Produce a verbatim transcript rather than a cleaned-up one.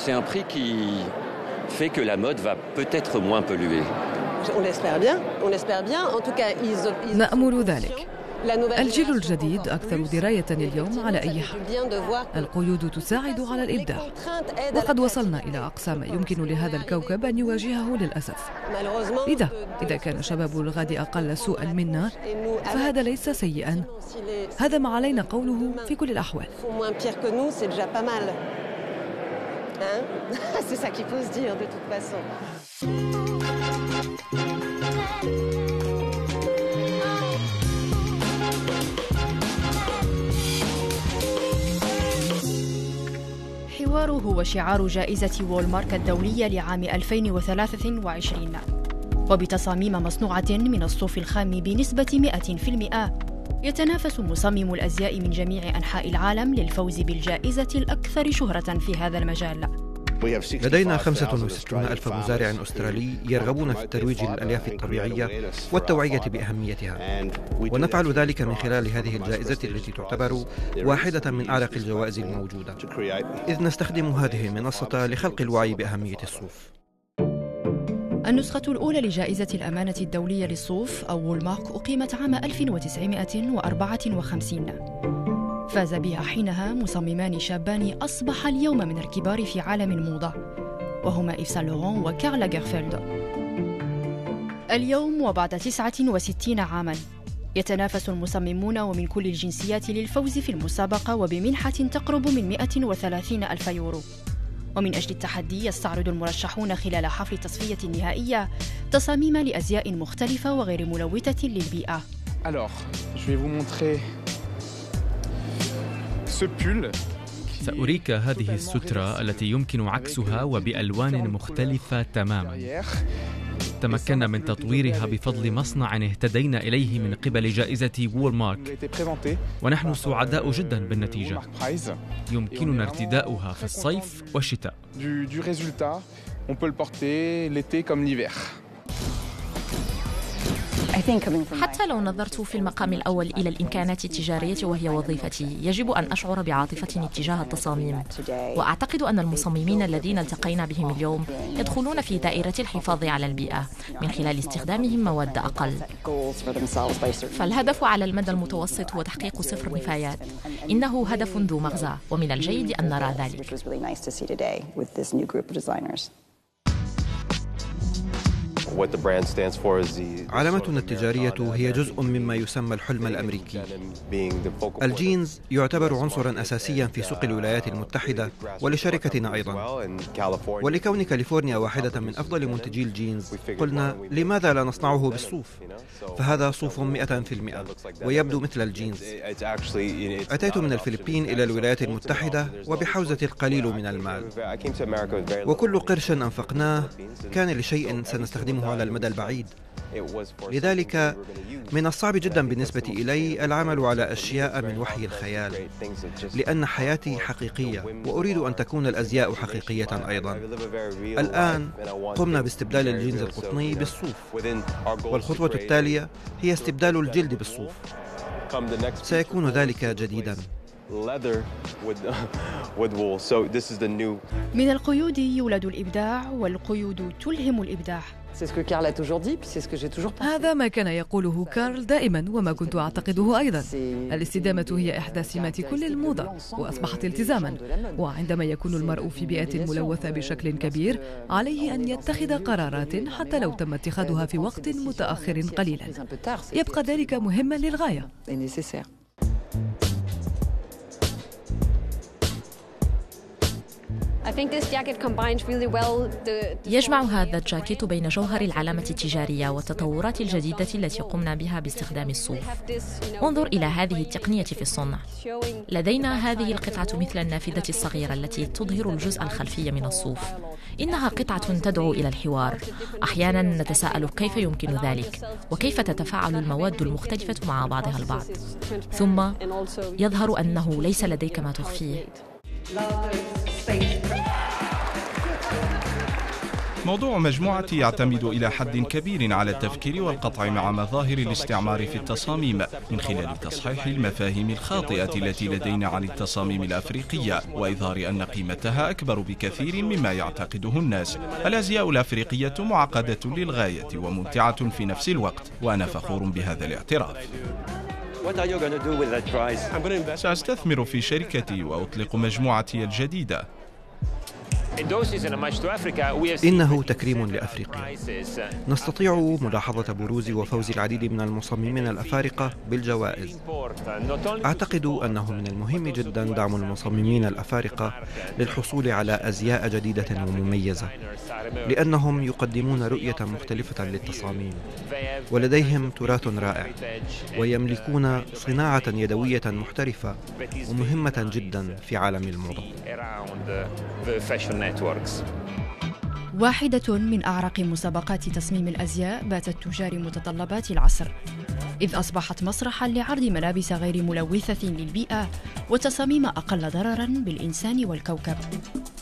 C'est un prix qui fait que la mode va peut-être moins polluer. On l'espère bien, on l'espère bien. En tout cas, ils نأمل ذلك. الجيل الجديد أكثر دراية اليوم على أي حال. القيود تساعد على الإبداع، وقد وصلنا إلى أقصى ما يمكن لهذا الكوكب أن يواجهه للأسف. لذا إذا كان شباب الغد أقل سوءا منا فهذا ليس سيئا، هذا ما علينا قوله في كل الأحوال. الحوار هو شعار جائزة وولمارت الدولية لعام ألفين وثلاثة وعشرين، وبتصاميم مصنوعة من الصوف الخام بنسبة مئة بالمئة يتنافس مصمم الأزياء من جميع أنحاء العالم للفوز بالجائزة الأكثر شهرة في هذا المجال. لدينا خمسة وستين ألف مزارع أسترالي يرغبون في الترويج للألياف الطبيعية والتوعية بأهميتها، ونفعل ذلك من خلال هذه الجائزة التي تعتبر واحدة من أعرق الجوائز الموجودة، إذ نستخدم هذه المنصة لخلق الوعي بأهمية الصوف. النسخة الأولى لجائزة الأمانة الدولية للصوف أو وولمارك أقيمت عام ألف وتسعمائة وأربعة وخمسين. فاز بها حينها مصممان شابان أصبح اليوم من الكبار في عالم الموضة، وهما إيف سان لوران وكارل لاغرفيلد. اليوم وبعد تسعة وستين عاماً يتنافس المصممون ومن كل الجنسيات للفوز في المسابقة وبمنحة تقرب من مئة وثلاثين ألف يورو. ومن أجل التحدي يستعرض المرشحون خلال حفل التصفية النهائية تصاميم لأزياء مختلفة وغير ملوثة للبيئة. Alors, je vais vous montrer ce pull. سأريك هذه السترة التي يمكن عكسها وبألوان مختلفة تماماً. تمكنا من تطويرها بفضل مصنع اهتدينا إليه من قبل جائزة وولمارك، ونحن سعداء جدا بالنتيجة. يمكننا ارتداؤها في الصيف والشتاء. حتى لو نظرت في المقام الأول إلى الإمكانات التجارية وهي وظيفتي، يجب أن أشعر بعاطفة اتجاه التصاميم، وأعتقد أن المصممين الذين التقينا بهم اليوم يدخلون في دائرة الحفاظ على البيئة من خلال استخدامهم مواد أقل. فالهدف على المدى المتوسط هو تحقيق صفر نفايات. إنه هدف ذو مغزى، ومن الجيد أن نرى ذلك. علامتنا التجارية هي جزء مما يسمى الحلم الأمريكي. الجينز يعتبر عنصراً أساسياً في سوق الولايات المتحدة ولشركتنا أيضاً، ولكون كاليفورنيا واحدة من أفضل منتجي الجينز قلنا لماذا لا نصنعه بالصوف؟ فهذا صوف مئة بالمئة ويبدو مثل الجينز. أتيت من الفلبين إلى الولايات المتحدة وبحوزة القليل من المال، وكل قرش أنفقناه كان لشيء سنستخدمه على المدى البعيد. لذلك من الصعب جدا بالنسبة إلي العمل على أشياء من وحي الخيال، لأن حياتي حقيقية وأريد أن تكون الأزياء حقيقية أيضا. الآن قمنا باستبدال الجينز القطني بالصوف، والخطوة التالية هي استبدال الجلد بالصوف. سيكون ذلك جديدا. من القيود يولد الإبداع، والقيود تلهم الإبداع. هذا ما كان يقوله كارل دائما، وما كنت أعتقده أيضا. الاستدامة هي إحدى سمات كل الموضة، وأصبحت التزاما. وعندما يكون المرء في بيئة ملوثة بشكل كبير عليه أن يتخذ قرارات حتى لو تم اتخاذها في وقت متأخر قليلا. يبقى ذلك مهما للغاية. يجمع هذا الجاكيت بين جوهر العلامة التجارية والتطورات الجديدة التي قمنا بها باستخدام الصوف. انظر إلى هذه التقنية في الصنع. لدينا هذه القطعة مثل النافذة الصغيرة التي تظهر الجزء الخلفي من الصوف. إنها قطعة تدعو إلى الحوار. أحيانا نتساءل كيف يمكن ذلك، وكيف تتفاعل المواد المختلفة مع بعضها البعض. ثم يظهر أنه ليس لديك ما تخفيه. موضوع مجموعتي يعتمد إلى حد كبير على التفكير والقطع مع مظاهر الاستعمار في التصاميم من خلال تصحيح المفاهيم الخاطئة التي لدينا عن التصاميم الأفريقية وإظهار أن قيمتها أكبر بكثير مما يعتقده الناس. الأزياء الأفريقية معقدة للغاية وممتعة في نفس الوقت، وأنا فخور بهذا الاعتراف. سأستثمر في شركتي وأطلق مجموعتي الجديدة. إنه تكريم لأفريقيا. نستطيع ملاحظة بروز وفوز العديد من المصممين الأفارقة بالجوائز. أعتقد أنه من المهم جدا دعم المصممين الأفارقة للحصول على أزياء جديدة ومميزة، لأنهم يقدمون رؤية مختلفة للتصاميم، ولديهم تراث رائع، ويملكون صناعة يدوية محترفة ومهمة جدا في عالم الموضة. واحدة من أعرق مسابقات تصميم الأزياء باتت تجاري متطلبات العصر، إذ أصبحت مسرحاً لعرض ملابس غير ملوثة للبيئة وتصاميم أقل ضرراً بالإنسان والكوكب.